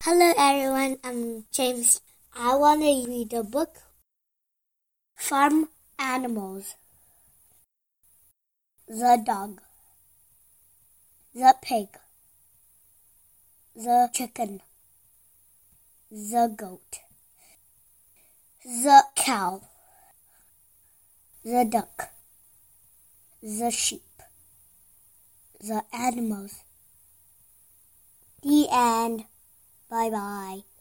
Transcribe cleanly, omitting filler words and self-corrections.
Hello everyone, I'm James. I want to read the book Farm Animals. The dog, the pig, the chicken, the goat, the cow, the duck, the sheep, the animals. The end. Bye-bye.